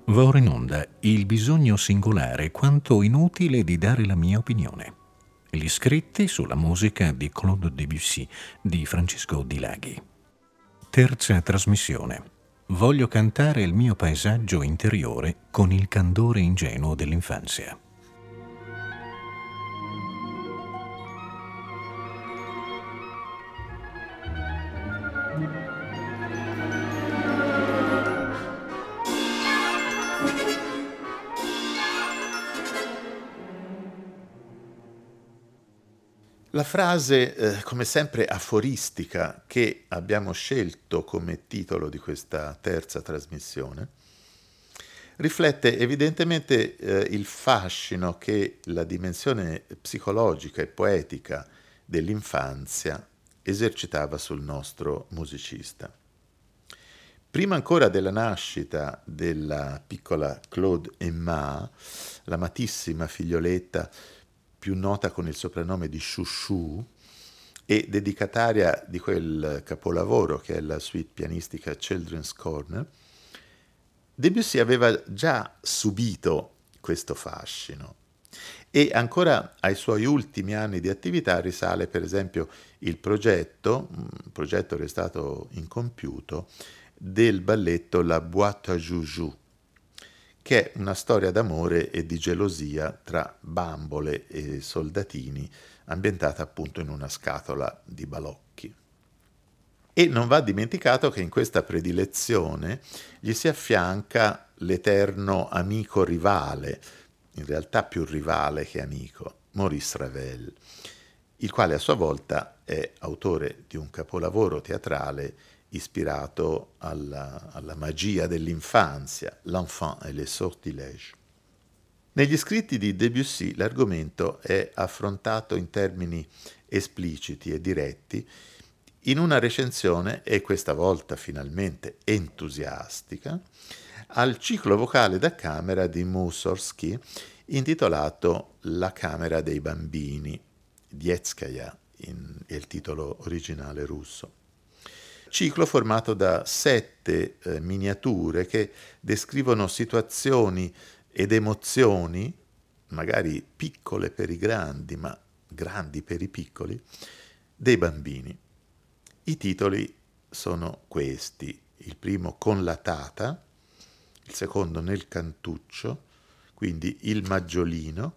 Va ora in onda il bisogno singolare quanto inutile di dare la mia opinione. Gli scritti sulla musica di Claude Debussy di Francesco Di Laghi. Terza trasmissione. Voglio cantare il mio paesaggio interiore con il candore ingenuo dell'infanzia. La frase, come sempre aforistica, che abbiamo scelto come titolo di questa terza trasmissione, riflette evidentemente il fascino che la dimensione psicologica e poetica dell'infanzia esercitava sul nostro musicista. Prima ancora della nascita della piccola Claude Emma, l'amatissima figlioletta più nota con il soprannome di Chouchou e dedicataria di quel capolavoro che è la suite pianistica Children's Corner, Debussy aveva già subito questo fascino e ancora ai suoi ultimi anni di attività risale per esempio il progetto, un progetto restato incompiuto, del balletto La Boîte à Joujou, che è una storia d'amore e di gelosia tra bambole e soldatini, ambientata appunto in una scatola di balocchi. E non va dimenticato che in questa predilezione gli si affianca l'eterno amico rivale, in realtà più rivale che amico, Maurice Ravel, il quale a sua volta è autore di un capolavoro teatrale ispirato alla magia dell'infanzia, L'enfant et les sortilèges. Negli scritti di Debussy l'argomento è affrontato in termini espliciti e diretti in una recensione, e questa volta finalmente entusiastica, al ciclo vocale da camera di Mussorgsky intitolato La camera dei bambini, Detskaya è il titolo originale russo. Ciclo formato da 7 miniature che descrivono situazioni ed emozioni, magari piccole per i grandi, ma grandi per i piccoli, dei bambini. I titoli sono questi: il primo Con la tata, il secondo Nel cantuccio, quindi Il maggiolino,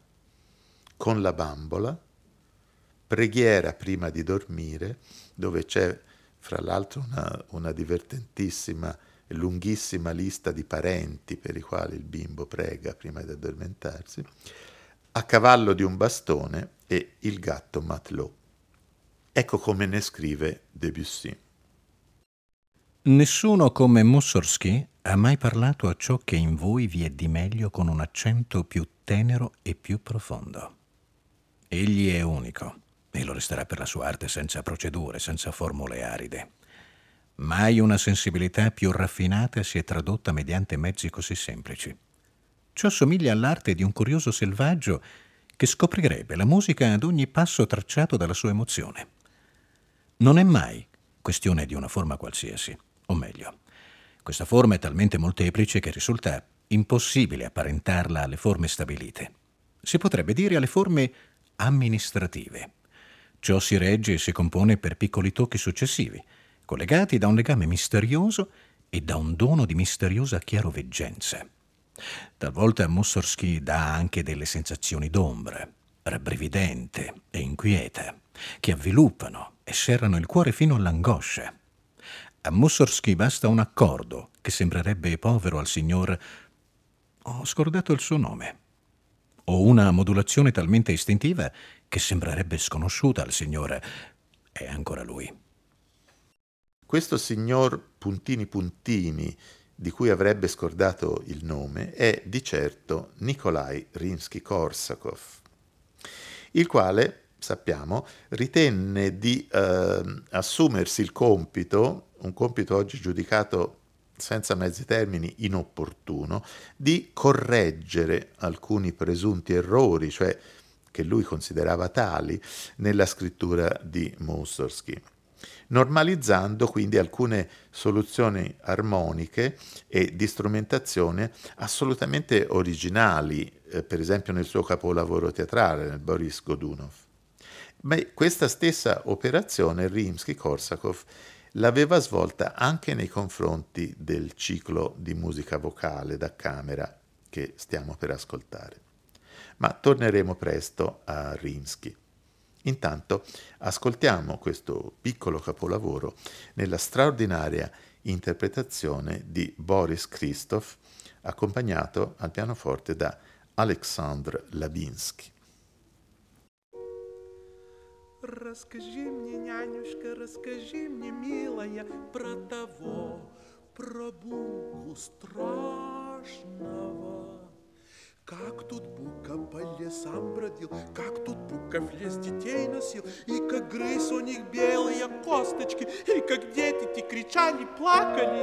Con la bambola, Preghiera prima di dormire, dove c'è fra l'altro una divertentissima e lunghissima lista di parenti per i quali il bimbo prega prima di addormentarsi, A cavallo di un bastone e Il gatto Matelot. Ecco come ne scrive Debussy. Nessuno come Mussorgsky ha mai parlato a ciò che in voi vi è di meglio con un accento più tenero e più profondo. Egli è unico, e lo resterà per la sua arte senza procedure, senza formule aride. Mai una sensibilità più raffinata si è tradotta mediante mezzi così semplici. Ciò somiglia all'arte di un curioso selvaggio che scoprirebbe la musica ad ogni passo tracciato dalla sua emozione. Non è mai questione di una forma qualsiasi, o meglio, questa forma è talmente molteplice che risulta impossibile apparentarla alle forme stabilite. Si potrebbe dire alle forme amministrative. Ciò si regge e si compone per piccoli tocchi successivi, collegati da un legame misterioso e da un dono di misteriosa chiaroveggenza. Talvolta Mussorgsky dà anche delle sensazioni d'ombra, rabbrividente e inquieta, che avviluppano e serrano il cuore fino all'angoscia. A Mussorgsky basta un accordo che sembrerebbe povero al signor... Ho scordato il suo nome. O una modulazione talmente istintiva che sembrerebbe sconosciuta al signor... È ancora lui. Questo signor puntini puntini, di cui avrebbe scordato il nome, è di certo Nikolai Rimsky-Korsakov, il quale, sappiamo, ritenne di assumersi il compito, un compito oggi giudicato senza mezzi termini inopportuno, di correggere alcuni presunti errori, cioè che lui considerava tali, nella scrittura di Mussorgsky. normalizzando quindi alcune soluzioni armoniche e di strumentazione assolutamente originali, per esempio nel suo capolavoro teatrale, nel Boris Godunov. Ma questa stessa operazione Rimsky-Korsakov l'aveva svolta anche nei confronti del ciclo di musica vocale da camera che stiamo per ascoltare. Ma torneremo presto a Rimsky. Intanto ascoltiamo questo piccolo capolavoro nella straordinaria interpretazione di Boris Christoph, accompagnato al pianoforte da Alexandr Labinsky. Расскажи мне, нянюшка, расскажи мне, милая, про того, про Буку страшного. Как тут Бука по лесам бродил, как тут Бука в лес детей носил, и как грыз у них белые косточки, и как дети-то кричали, плакали.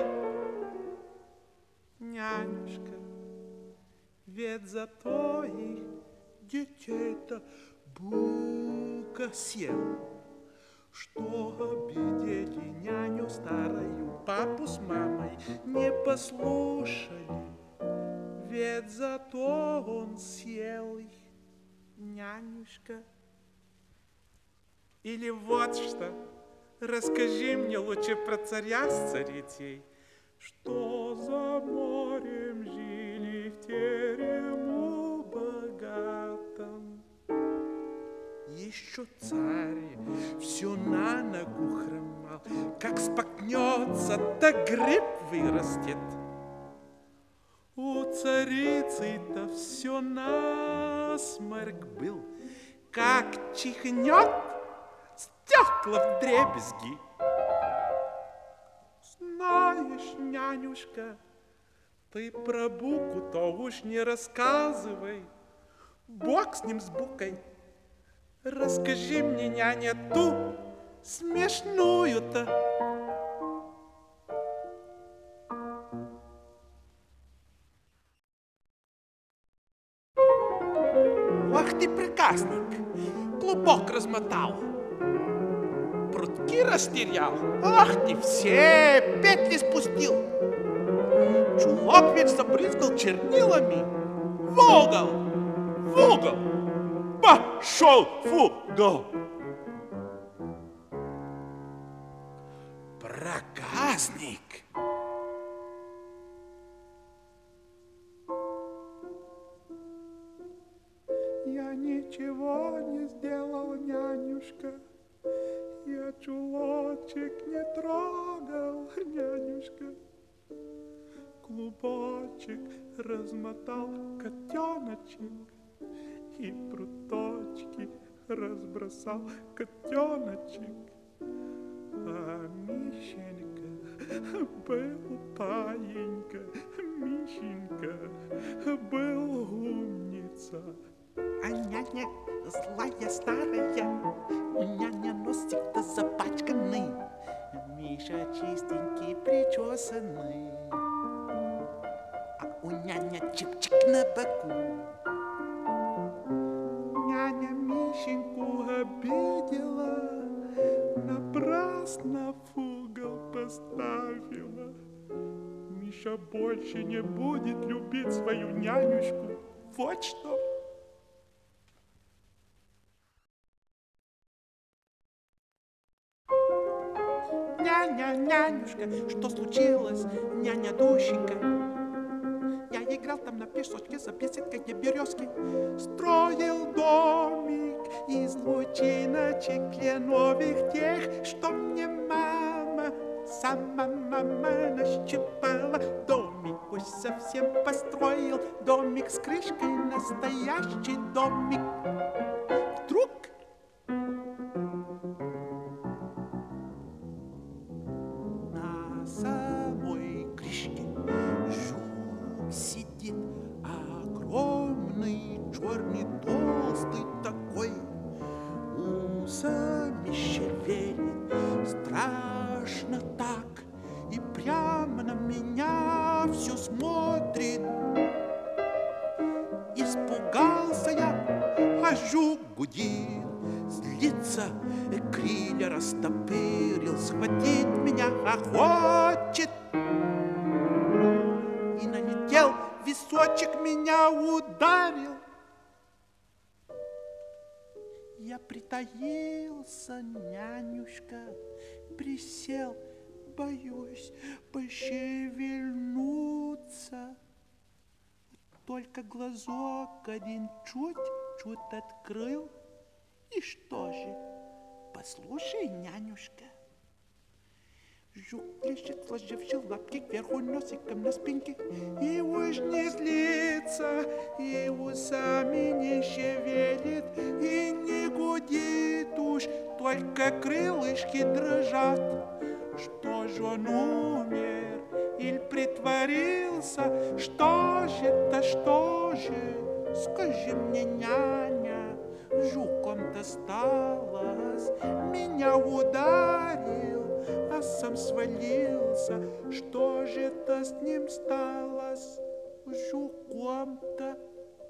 Нянюшка, ведь за твоих детей-то Бука съел, что обидели няню старую, папу с мамой не послушали. Ведь зато он съел их, нянюшка. Или вот что, расскажи мне лучше про царя с царицей, что за морем жили в терему богатом. Еще царь все на ногу хромал, как споткнется, да гриб вырастет. У царицы-то все насморк был, как чихнет, стекла вдребезги. Знаешь, нянюшка, ты про Буку-то уж не рассказывай. Бог с ним, с Букой. Расскажи мне, няня, ту смешную-то. Ах ты проказник, клубок размотал, прутки растерял, ах ты все петли спустил, чулок ведь забрызгал чернилами, в угол, пошел в угол. Проказник. Я ничего не сделал, нянюшка, я чулочек не трогал, нянюшка. Клубочек размотал котеночек и пруточки разбросал котеночек. А Мишенька был паенька, Мишенька был умница. А няня злая старая, у няня носик-то запачканный, Миша чистенький, причесанный, а у няня чик-чик на боку. Няня Мишеньку обидела, напрасно в угол поставила. Миша больше не будет любить свою нянюшку. Вот что. Няня, нянюшка, что случилось, няня Дущенька? Я играл там на песочке за беседкой березки, строил домик из лучиночек кленовых тех, что мне мама, сама мама нащипала. Домик уж совсем построил, домик с крышкой, настоящий домик. Вдруг на самой крышке жук сидит, огромный, черный, толстый такой, усами шевелит, страшно так, и прямо на меня все смотрит. Испугался я, а жук гудит, злится, крылья растопырил, схватить меня хочет. И налетел, височек меня ударил. Я притаился, нянюшка, присел, боюсь пошевельнуться. Только глазок один чуть-чуть открыл. И что же? Послушай, нянюшка. Жук лежит, сложивший лапки кверху носиком на спинке. И уж не злится, и усами не шевелит, и не гудит уж, только крылышки дрожат. Что же он умер или притворился? Что же это, что же? Скажи мне, няня, жуком досталось, меня ударил, а сам свалился. Что же это с ним стало, с жуком-то?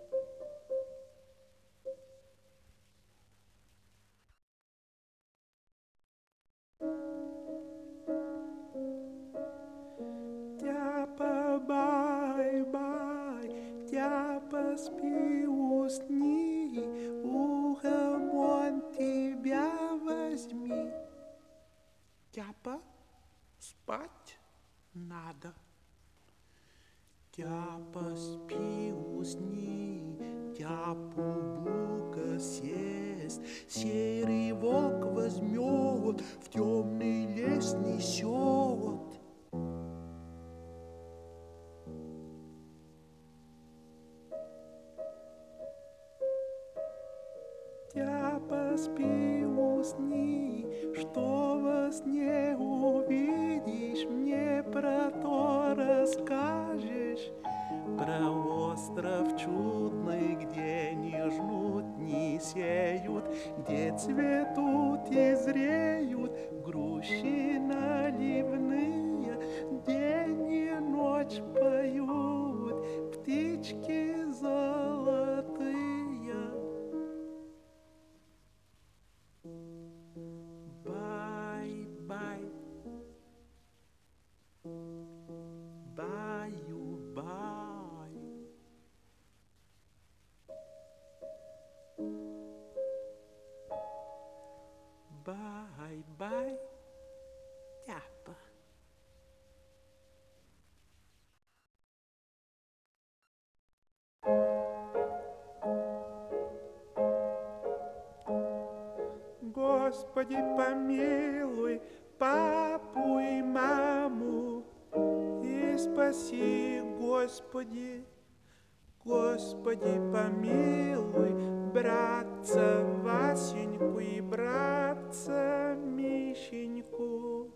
Тяпа, бай-бай, тяпа, спи, усни, ухом он тебя возьми. Тяпа, спать надо. Тяпа, спи, усни, тяпу бука съест, серый волк возьмет, в темный лес несет. Тяпа, спи, усни, что во сне увидишь, мне про то расскажешь. Про остров чудный, где не жнут, не сеют, где цветут и зреют груши наливные, день и ночь поют птички золотые. Бай-бай, баю-бай. Бай-бай, тяпа. Господи, помилуй папу и маму, и спаси, Господи. Господи, помилуй братца Васеньку и братца Мишеньку.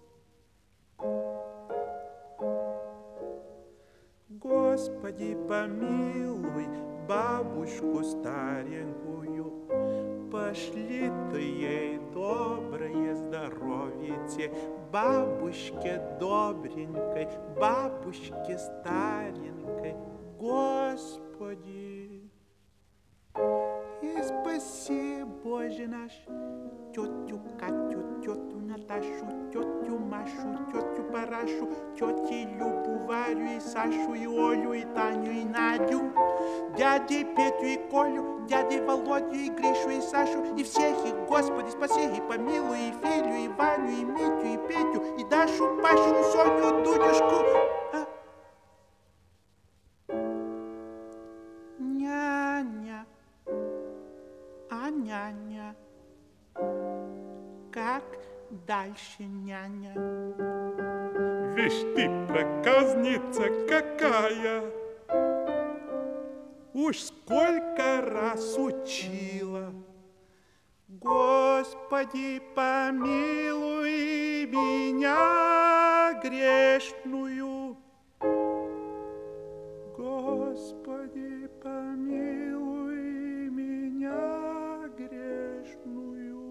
Господи, помилуй бабушку старенькую, пошли ты ей доброе здоровье, бабушке добренькой, бабушке старенькой, Господи. И спаси, Боже наш, тетю Катю, тетю Наташу, тетю Машу, тетю Парашу, тети Любу, Варю и Сашу, и Олю, и Таню, и Надю, дядей Петю и Колю, дядей Володю, и Гришу, и Сашу, и всех их, Господи, спаси, и помилуй, и Филю, и Ваню, и Митю, и Петю, и Дашу, Пашу, Соню, Дудюшку. Няня, няня, как дальше, няня? Вишь ты, проказница какая! Уж сколько раз учила. Господи, помилуй меня грешную. Господи, помилуй меня грешную.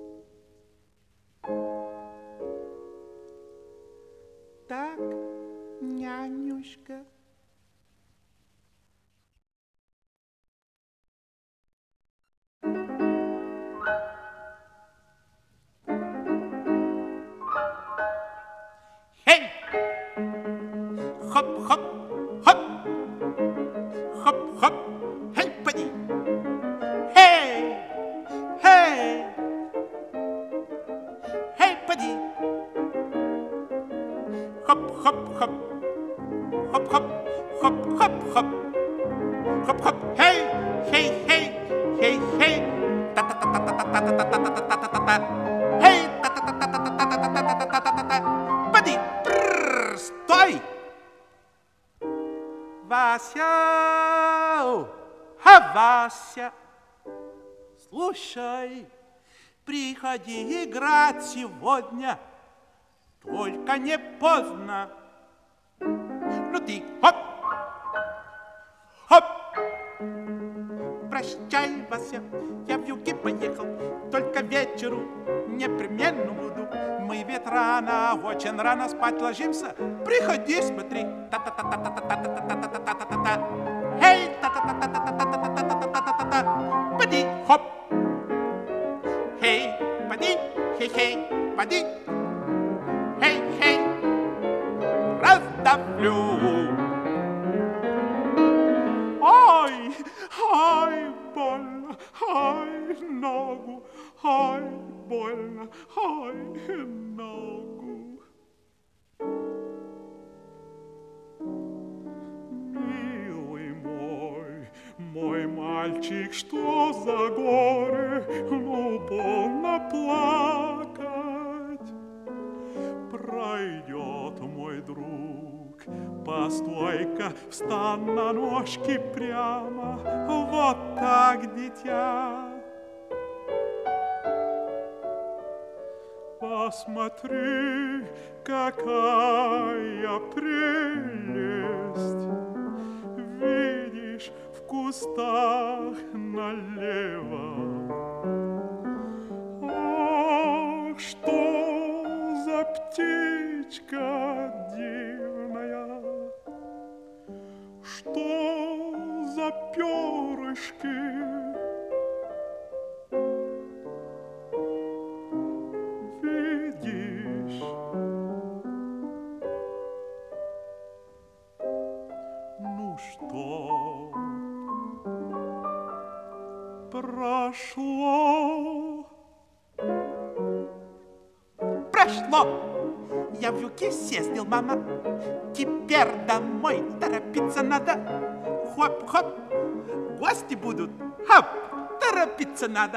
Так, нянюшка. хоп-хоп, хоп-хоп, хоп-хоп-хоп, хоп-хоп, хей, хей, хей, хей, хей, та-та-та-та-та-та-та-та-та-та-та-та-та, хей, та-та-та-та-та-та-та-та-та-та-та, поди, стой! Вася, Вася, слушай, приходи играть сегодня, только не поздно. Ну ты, хоп, хоп. Прощай, Вася, я в юге поехал, только вечеру непременно буду. Мы ведь рано, очень рано спать ложимся. Приходи, смотри. Та-та-та-та-та-та-та-та-та-та-та-та-та. Эй, та-та-та-та-та-та-та-та-та-та-та-та. Поди, хоп. Хей, поди, хей-хей, поди. Хей-хей, раздавлю. Ай, ай, больно, ай, ногу, ай, больно, ай, ногу. Милый мой мальчик, что за горе, ну, полно плакать. Пройдет мой друг, постой-ка, встань на ножки прямо, вот так, дитя. Посмотри, какая прелесть, видишь, в кустах налево. Ах, что за птичка дивная, что за перышки. Видишь? Ну что, прошло? Прошло! Я в юге съездил, мама. Теперь домой торопиться надо. Хоп-хоп, гости будут. Хоп, торопиться надо.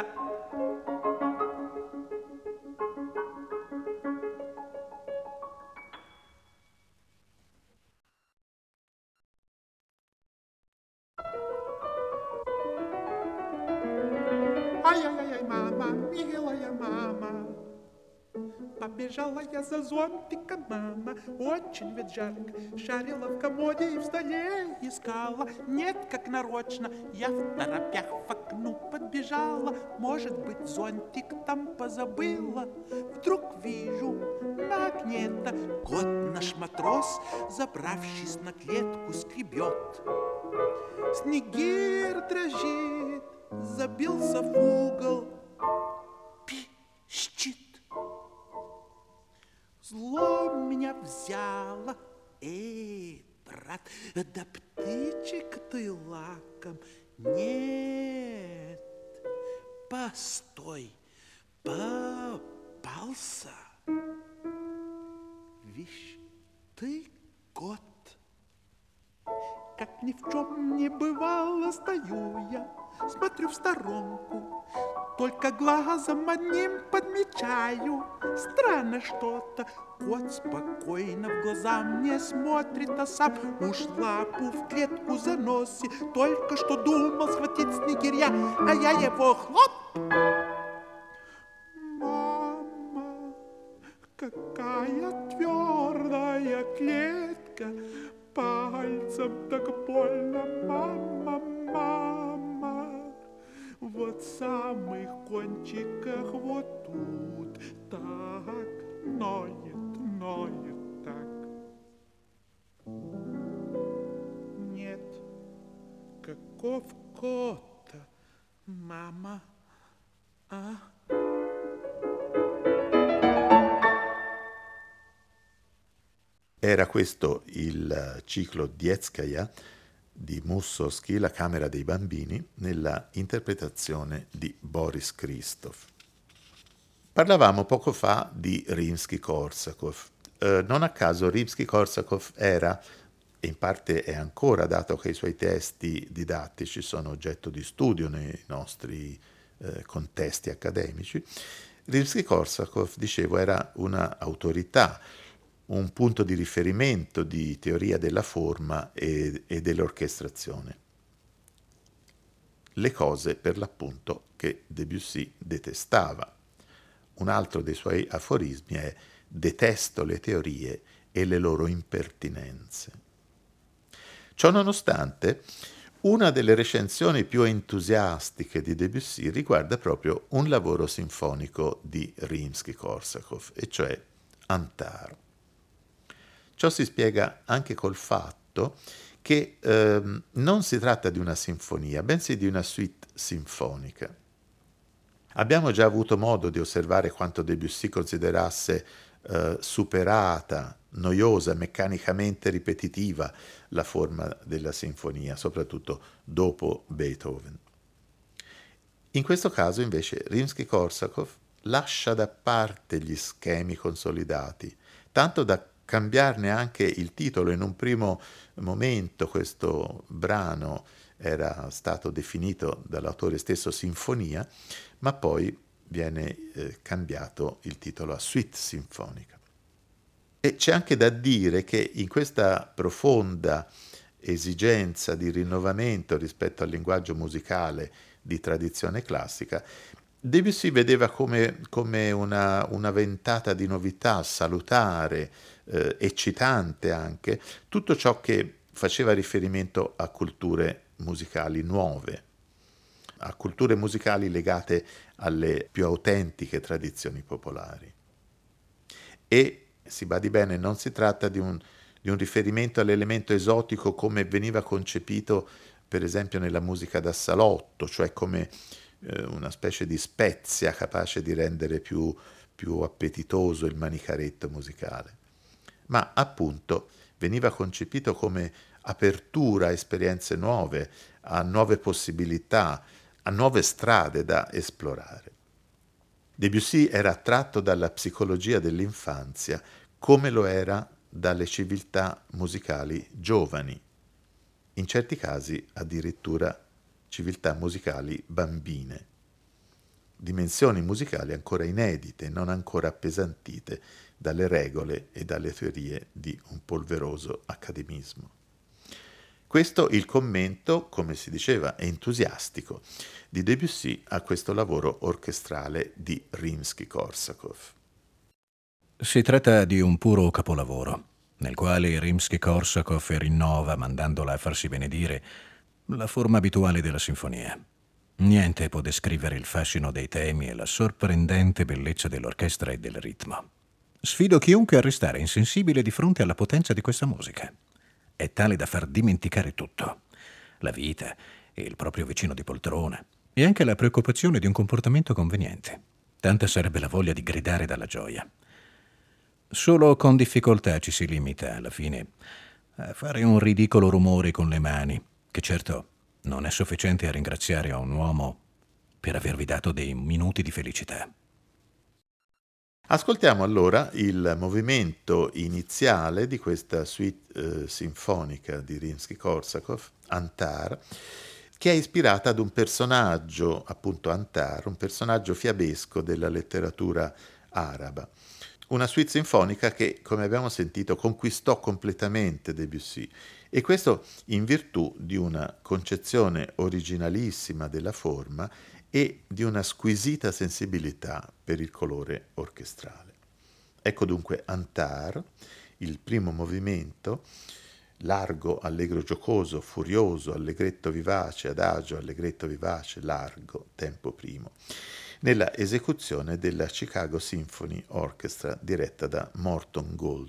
Ай-яй-яй, мама, милая мама. Побежала я за зонтиком, мама, очень ведь жарко. Шарила в комоде и в столе искала. Нет, как нарочно, я в торопях в окну подбежала. Может быть, зонтик там позабыла. Вдруг вижу на окне-то кот наш матрос, забравшись на клетку, скребет. Снегирь дрожит, забился в угол, пищит. Зло меня взяло, брат, да птичек ты лаком. Нет, постой, попался. Вишь, ты кот. Как ни в чем не бывало, стою я, смотрю в сторонку, только глазом одним подмечаю. Странно что-то, кот спокойно в глаза мне смотрит, а сам уж лапу в клетку заносит. Только что думал схватить снегиря, а я его хлоп. Мама, какая твердая клетка, пальцем так больно, мама, мама. Вот в самых кончиках вот тут так ноет, ноет так. Нет, каков кот-то, мама, а? Era questo il ciclo Dietskaya di Mussorgsky, La camera dei bambini, nella interpretazione di Boris Christoph. Parlavamo poco fa di Rimsky-Korsakov Non a caso Rimsky-Korsakov era, e in parte è ancora, dato che i suoi testi didattici sono oggetto di studio nei nostri contesti accademici, Rimsky-Korsakov, dicevo, era una autorità, un punto di riferimento di teoria della forma e dell'orchestrazione. Le cose, per l'appunto, che Debussy detestava. Un altro dei suoi aforismi è: detesto le teorie e le loro impertinenze. Ciò nonostante, una delle recensioni più entusiastiche di Debussy riguarda proprio un lavoro sinfonico di Rimsky-Korsakov, e cioè Antar. Ciò si spiega anche col fatto che non si tratta di una sinfonia, bensì di una suite sinfonica. Abbiamo già avuto modo di osservare quanto Debussy considerasse superata, noiosa, meccanicamente ripetitiva la forma della sinfonia, soprattutto dopo Beethoven. In questo caso, invece, Rimsky-Korsakov lascia da parte gli schemi consolidati, tanto da cambiarne anche il titolo. In un primo momento questo brano era stato definito dall'autore stesso sinfonia, ma poi viene cambiato il titolo a suite sinfonica. E c'è anche da dire che in questa profonda esigenza di rinnovamento rispetto al linguaggio musicale di tradizione classica, Debussy vedeva come una ventata di novità salutare, eccitante anche, tutto ciò che faceva riferimento a culture musicali nuove, a culture musicali legate alle più autentiche tradizioni popolari. E, si badi bene, non si tratta di un riferimento all'elemento esotico come veniva concepito per esempio nella musica da salotto, cioè come una specie di spezia capace di rendere più appetitoso il manicaretto musicale, ma appunto veniva concepito come apertura a esperienze nuove, a nuove possibilità, a nuove strade da esplorare. Debussy era attratto dalla psicologia dell'infanzia come lo era dalle civiltà musicali giovani, in certi casi addirittura civiltà musicali bambine, dimensioni musicali ancora inedite, non ancora appesantite dalle regole e dalle teorie di un polveroso accademismo. Questo il commento, come si diceva, entusiastico di Debussy a questo lavoro orchestrale di Rimsky-Korsakov. Si tratta di un puro capolavoro, nel quale Rimsky-Korsakov rinnova, mandandola a farsi benedire, la forma abituale della sinfonia. Niente può descrivere il fascino dei temi e la sorprendente bellezza dell'orchestra e del ritmo. Sfido chiunque a restare insensibile di fronte alla potenza di questa musica. È tale da far dimenticare tutto: la vita e il proprio vicino di poltrona, e anche la preoccupazione di un comportamento conveniente. Tanta sarebbe la voglia di gridare dalla gioia. Solo con difficoltà ci si limita, alla fine, a fare un ridicolo rumore con le mani, che certo non è sufficiente a ringraziare a un uomo per avervi dato dei minuti di felicità. Ascoltiamo allora il movimento iniziale di questa suite sinfonica di Rimsky-Korsakov, Antar, che è ispirata ad un personaggio, appunto Antar, un personaggio fiabesco della letteratura araba. Una suite sinfonica che, come abbiamo sentito, conquistò completamente Debussy, e questo in virtù di una concezione originalissima della forma e di una squisita sensibilità per il colore orchestrale. Ecco dunque Antar, il primo movimento, largo, allegro giocoso, furioso, allegretto vivace, adagio, allegretto vivace, largo, tempo primo, nella esecuzione della Chicago Symphony Orchestra diretta da Morton Gould.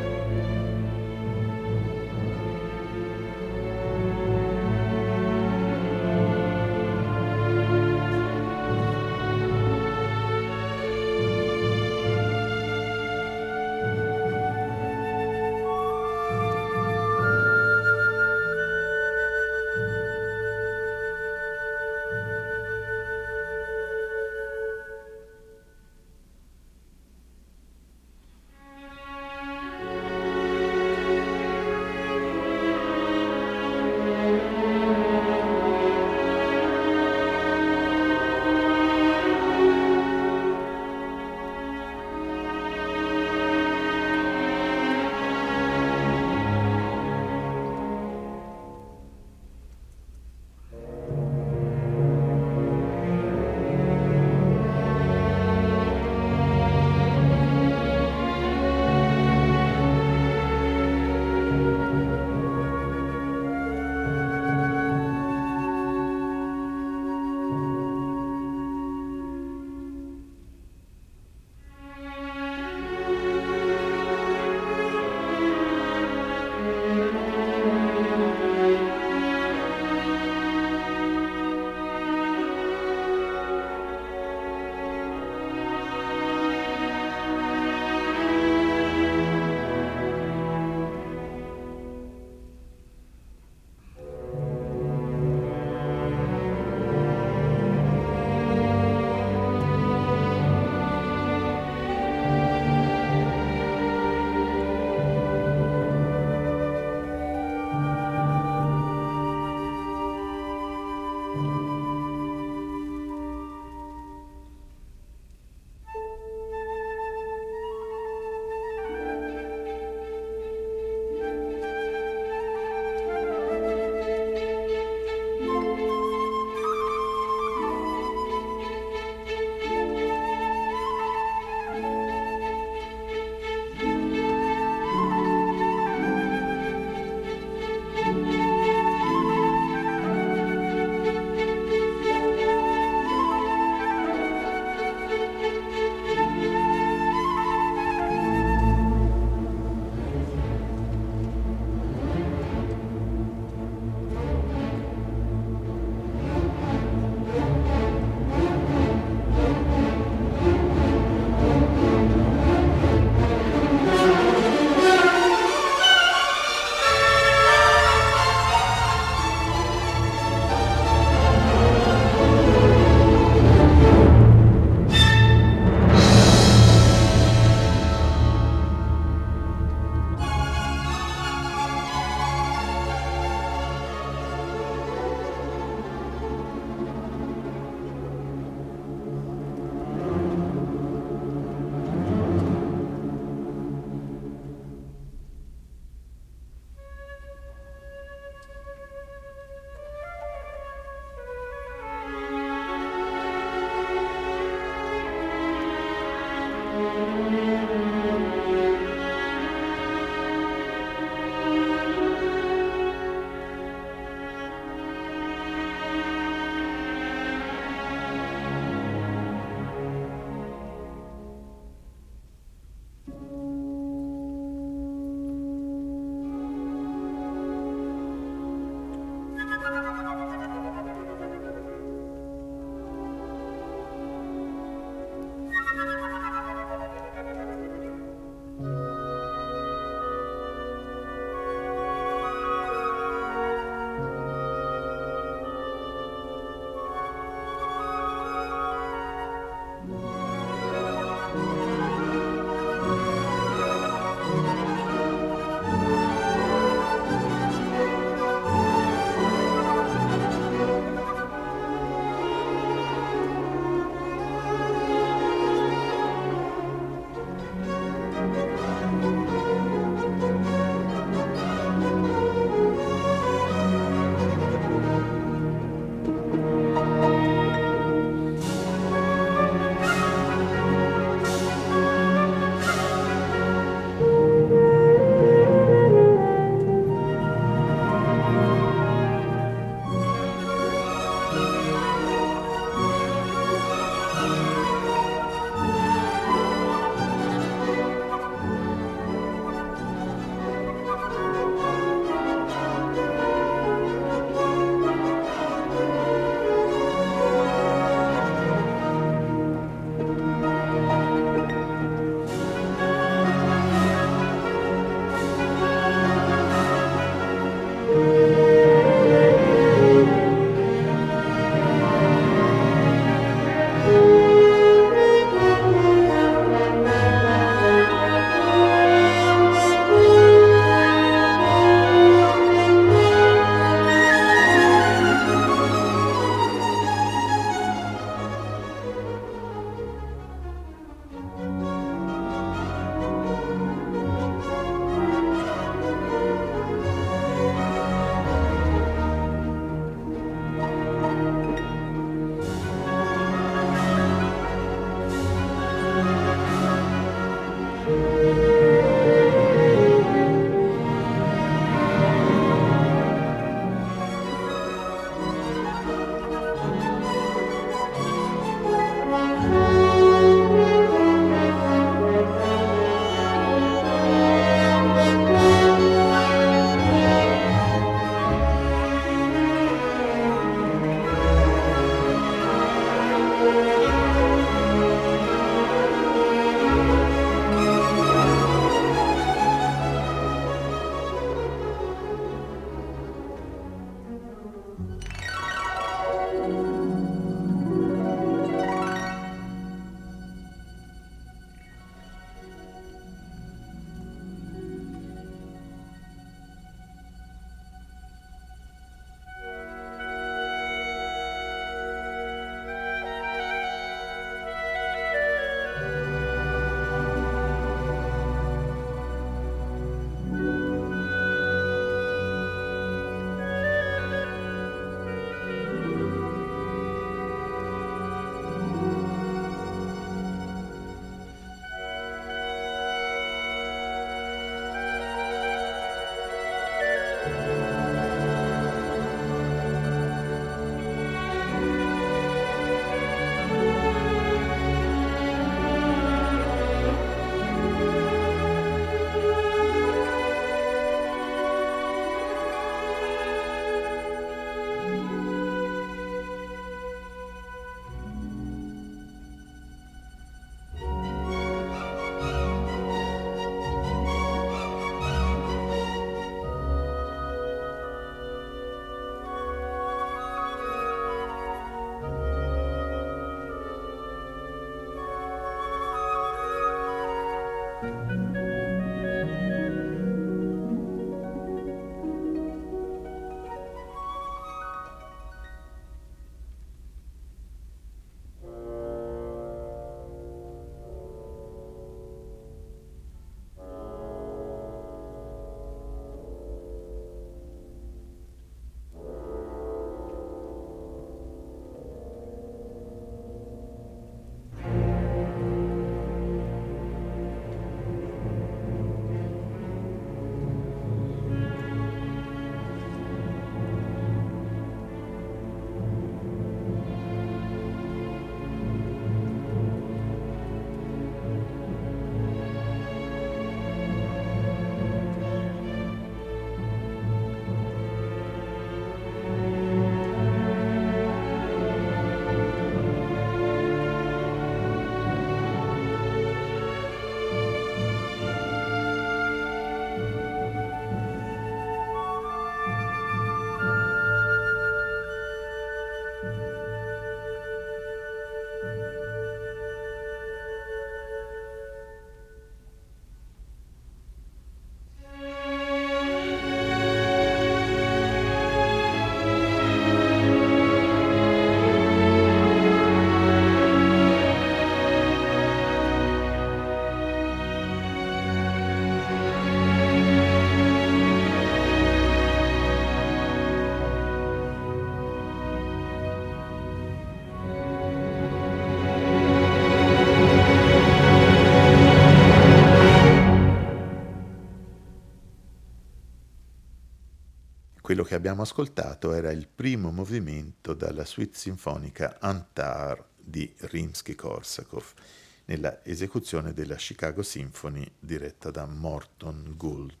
Quello che abbiamo ascoltato era il primo movimento dalla suite sinfonica Antar di Rimsky-Korsakov, nella esecuzione della Chicago Symphony diretta da Morton Gould.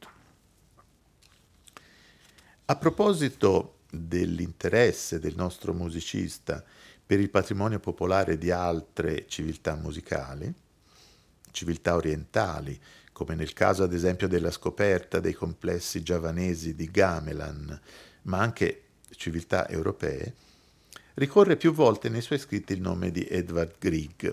A proposito dell'interesse del nostro musicista per il patrimonio popolare di altre civiltà musicali, civiltà orientali, come nel caso ad esempio della scoperta dei complessi giavanesi di Gamelan, ma anche civiltà europee, ricorre più volte nei suoi scritti il nome di Edvard Grieg.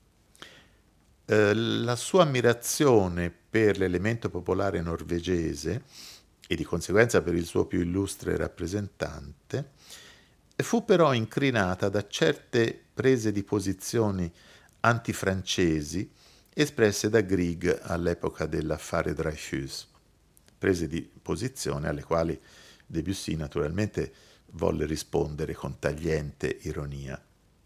La sua ammirazione per l'elemento popolare norvegese e di conseguenza per il suo più illustre rappresentante fu però incrinata da certe prese di posizioni antifrancesi espresse da Grieg all'epoca dell'affare Dreyfus, prese di posizione alle quali Debussy naturalmente volle rispondere con tagliente ironia.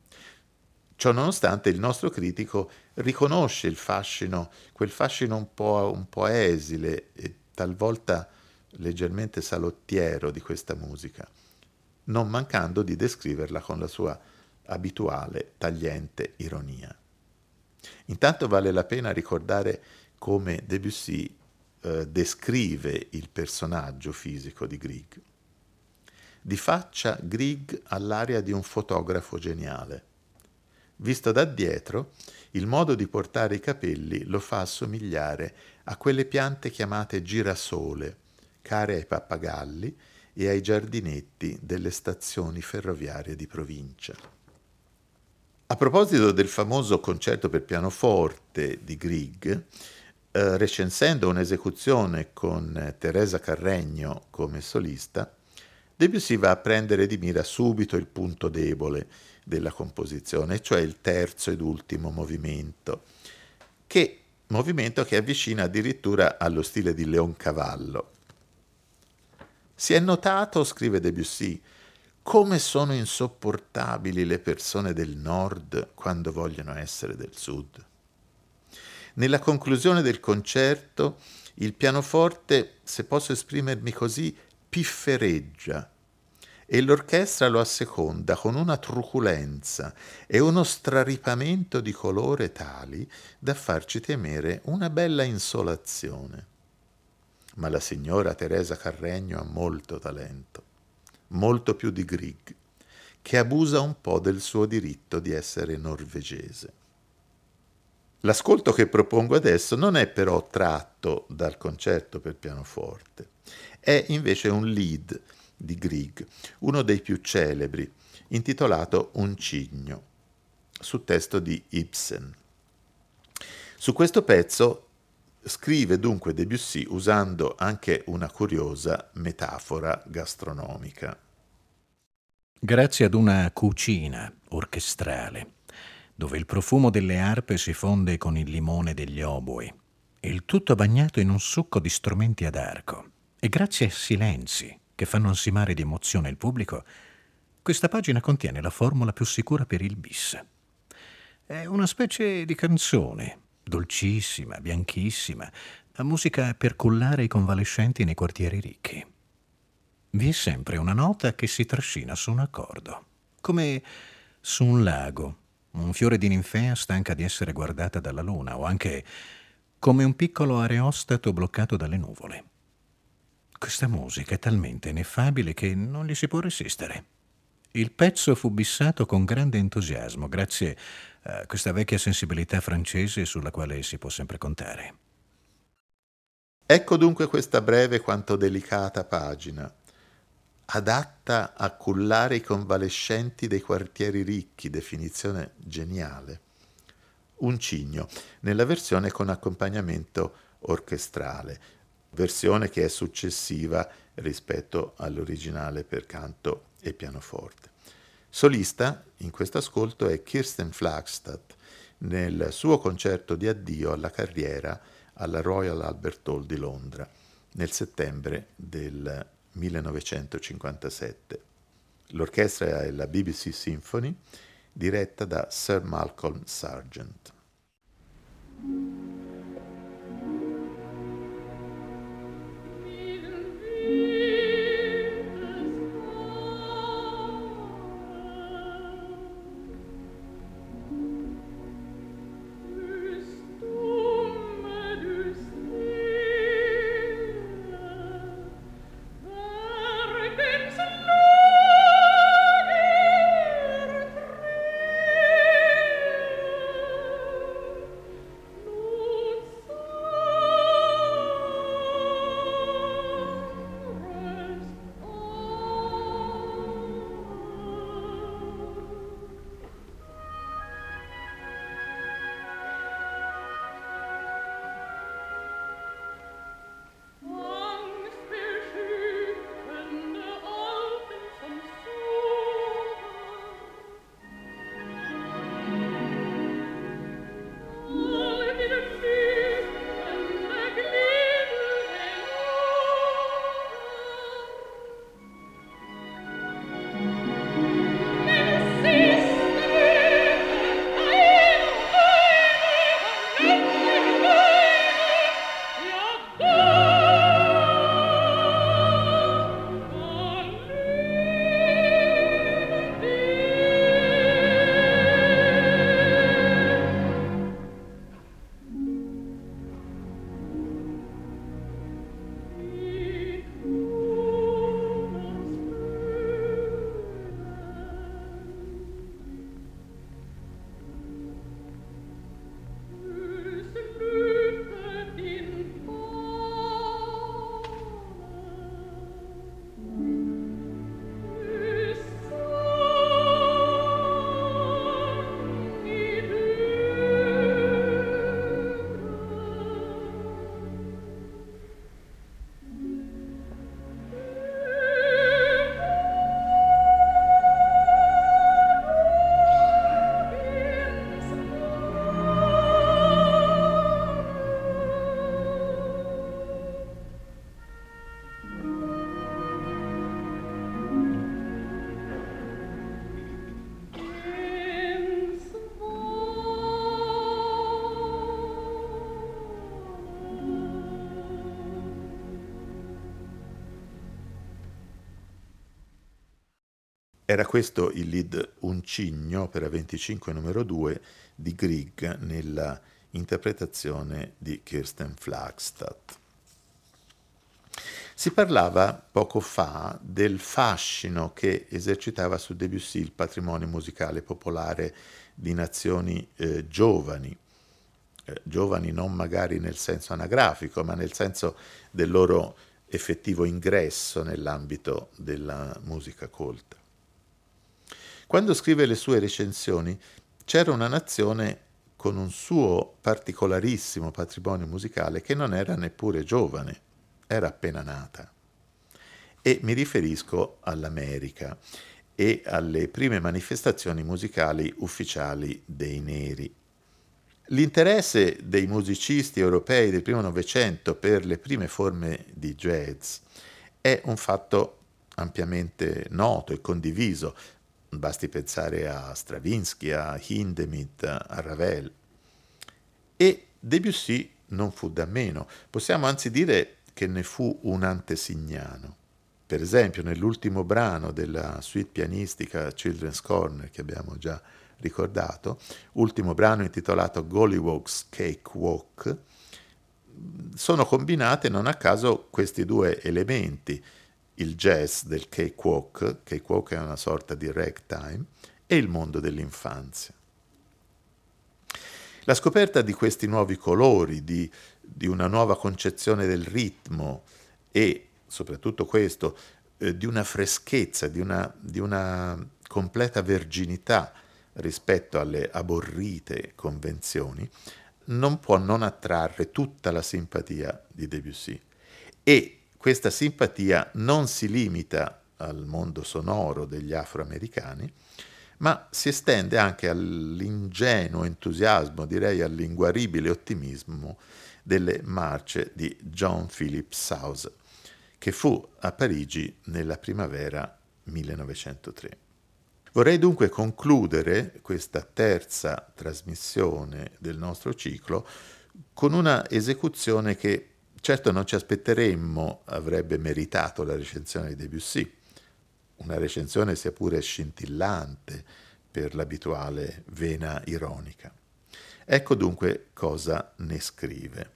Ciò nonostante il nostro critico riconosce il fascino, quel fascino un po' esile e talvolta leggermente salottiero di questa musica, non mancando di descriverla con la sua abituale tagliente ironia. Intanto vale la pena ricordare come Debussy descrive il personaggio fisico di Grieg. Di faccia Grieg ha l'aria di un fotografo geniale. Visto da dietro, il modo di portare i capelli lo fa assomigliare a quelle piante chiamate girasole, care ai pappagalli e ai giardinetti delle stazioni ferroviarie di provincia. A proposito del famoso concerto per pianoforte di Grieg, recensendo un'esecuzione con Teresa Carreño come solista, Debussy va a prendere di mira subito il punto debole della composizione, cioè il terzo ed ultimo movimento che avvicina addirittura allo stile di Leoncavallo. Si è notato, scrive Debussy, come sono insopportabili le persone del nord quando vogliono essere del sud. Nella conclusione del concerto, il pianoforte, se posso esprimermi così, piffereggia e l'orchestra lo asseconda con una truculenza e uno straripamento di colore tali da farci temere una bella insolazione. Ma la signora Teresa Carreño ha molto talento, molto più di Grieg, che abusa un po' del suo diritto di essere norvegese. L'ascolto che propongo adesso non è però tratto dal concerto per pianoforte, è invece un lead di Grieg, uno dei più celebri, intitolato Un cigno, su testo di Ibsen. Su questo pezzo scrive dunque Debussy usando anche una curiosa metafora gastronomica. Grazie ad una cucina orchestrale, dove il profumo delle arpe si fonde con il limone degli oboi, e il tutto bagnato in un succo di strumenti ad arco, e grazie ai silenzi che fanno ansimare di emozione il pubblico, questa pagina contiene la formula più sicura per il bis. È una specie di canzone, dolcissima, bianchissima, musica per cullare i convalescenti nei quartieri ricchi. Vi è sempre una nota che si trascina su un accordo, come su un lago, un fiore di ninfea stanca di essere guardata dalla luna, o anche come un piccolo areostato bloccato dalle nuvole. Questa musica è talmente ineffabile che non gli si può resistere. Il pezzo fu bissato con grande entusiasmo, grazie a questa vecchia sensibilità francese sulla quale si può sempre contare. Ecco dunque questa breve quanto delicata pagina, adatta a cullare i convalescenti dei quartieri ricchi, definizione geniale. Un cigno, nella versione con accompagnamento orchestrale, versione che è successiva rispetto all'originale per canto e pianoforte. Solista in questo ascolto è Kirsten Flagstad nel suo concerto di addio alla carriera alla Royal Albert Hall di Londra nel settembre del 1957. L'orchestra è la BBC Symphony, diretta da Sir Malcolm Sargent. Era questo il lead Un cigno, opera 25 numero 2 di Grieg nella interpretazione di Kirsten Flagstad. Si parlava poco fa del fascino che esercitava su Debussy il patrimonio musicale popolare di nazioni giovani, giovani non magari nel senso anagrafico, ma nel senso del loro effettivo ingresso nell'ambito della musica colta. Quando scrive le sue recensioni, c'era una nazione con un suo particolarissimo patrimonio musicale che non era neppure giovane, era appena nata. E mi riferisco all'America e alle prime manifestazioni musicali ufficiali dei neri. L'interesse dei musicisti europei del primo Novecento per le prime forme di jazz è un fatto ampiamente noto e condiviso. Basti pensare a Stravinsky, a Hindemith, a Ravel. E Debussy non fu da meno. Possiamo anzi dire che ne fu un antesignano. Per esempio, nell'ultimo brano della suite pianistica Children's Corner, che abbiamo già ricordato, ultimo brano intitolato Gollywog's Cakewalk, sono combinate non a caso questi due elementi, il jazz del cakewalk è una sorta di ragtime, e il mondo dell'infanzia. La scoperta di questi nuovi colori, di una nuova concezione del ritmo e soprattutto questo, di una freschezza, di una completa verginità rispetto alle aborrite convenzioni, non può non attrarre tutta la simpatia di Debussy. E questa simpatia non si limita al mondo sonoro degli afroamericani, ma si estende anche all'ingenuo entusiasmo, direi all'inguaribile ottimismo delle marce di John Philip Sousa, che fu a Parigi nella primavera 1903. Vorrei dunque concludere questa terza trasmissione del nostro ciclo con una esecuzione che certo non ci aspetteremmo avrebbe meritato la recensione di Debussy, una recensione sia pure scintillante per l'abituale vena ironica. Ecco dunque cosa ne scrive.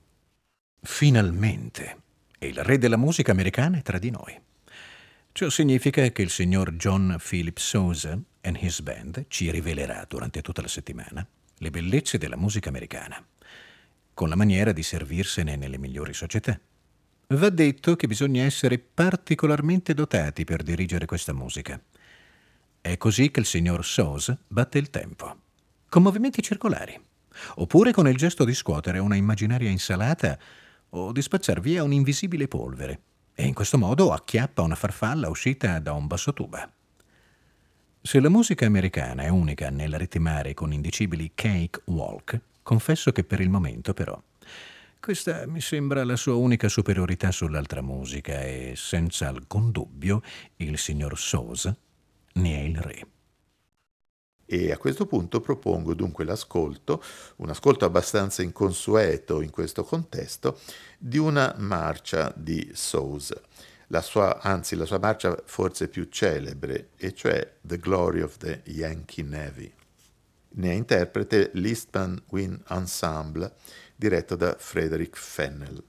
Finalmente, il re della musica americana è tra di noi. Ciò significa che il signor John Philip Sousa and his band ci rivelerà durante tutta la settimana le bellezze della musica americana, con la maniera di servirsene nelle migliori società. Va detto che bisogna essere particolarmente dotati per dirigere questa musica. È così che il signor Sousa batte il tempo, con movimenti circolari, oppure con il gesto di scuotere una immaginaria insalata o di spazzar via un'invisibile polvere, e in questo modo acchiappa una farfalla uscita da un bassotuba. Se la musica americana è unica nel ritmare con indicibili cake walk, confesso che per il momento però questa mi sembra la sua unica superiorità sull'altra musica e senza alcun dubbio il signor Sousa ne è il re. E a questo punto propongo dunque un ascolto abbastanza inconsueto in questo contesto, di una marcia di Sousa, la sua marcia forse più celebre, e cioè The Glory of the Yankee Navy. Ne è interprete l'Eastman Wind Ensemble, diretto da Frederick Fennell.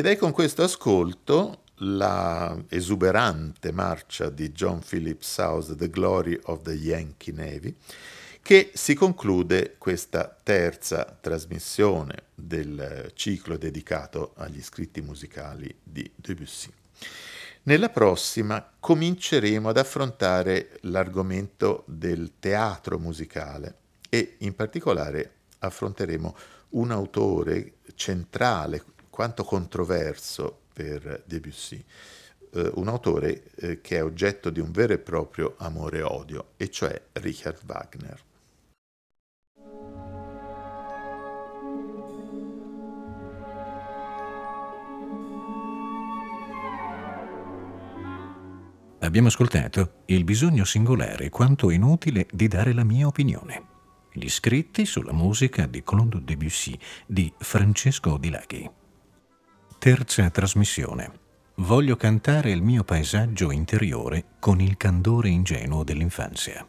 Ed è con questo ascolto la esuberante marcia di John Philip Sousa, The Glory of the Yankee Navy, che si conclude questa terza trasmissione del ciclo dedicato agli scritti musicali di Debussy. Nella prossima cominceremo ad affrontare l'argomento del teatro musicale e in particolare affronteremo un autore centrale, quanto controverso per Debussy, un autore che è oggetto di un vero e proprio amore e odio, e cioè Richard Wagner. Abbiamo ascoltato Il bisogno singolare quanto inutile di dare la mia opinione. Gli scritti sulla musica di Claude Debussy di Francesco Di Laghi. Terza trasmissione. Voglio cantare il mio paesaggio interiore con il candore ingenuo dell'infanzia.